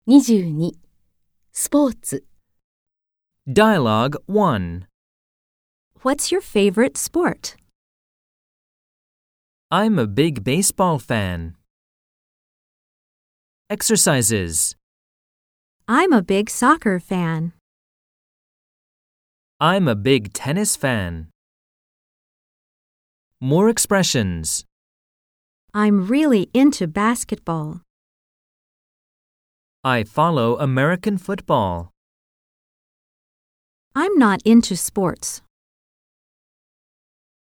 22. スポーツ Dialogue 1. What's your favorite sport? I'm a big baseball fan. Exercises. I'm a big soccer fan. I'm a big tennis fan. More expressions. I'm really into basketball. I follow American football. I'm not into sports.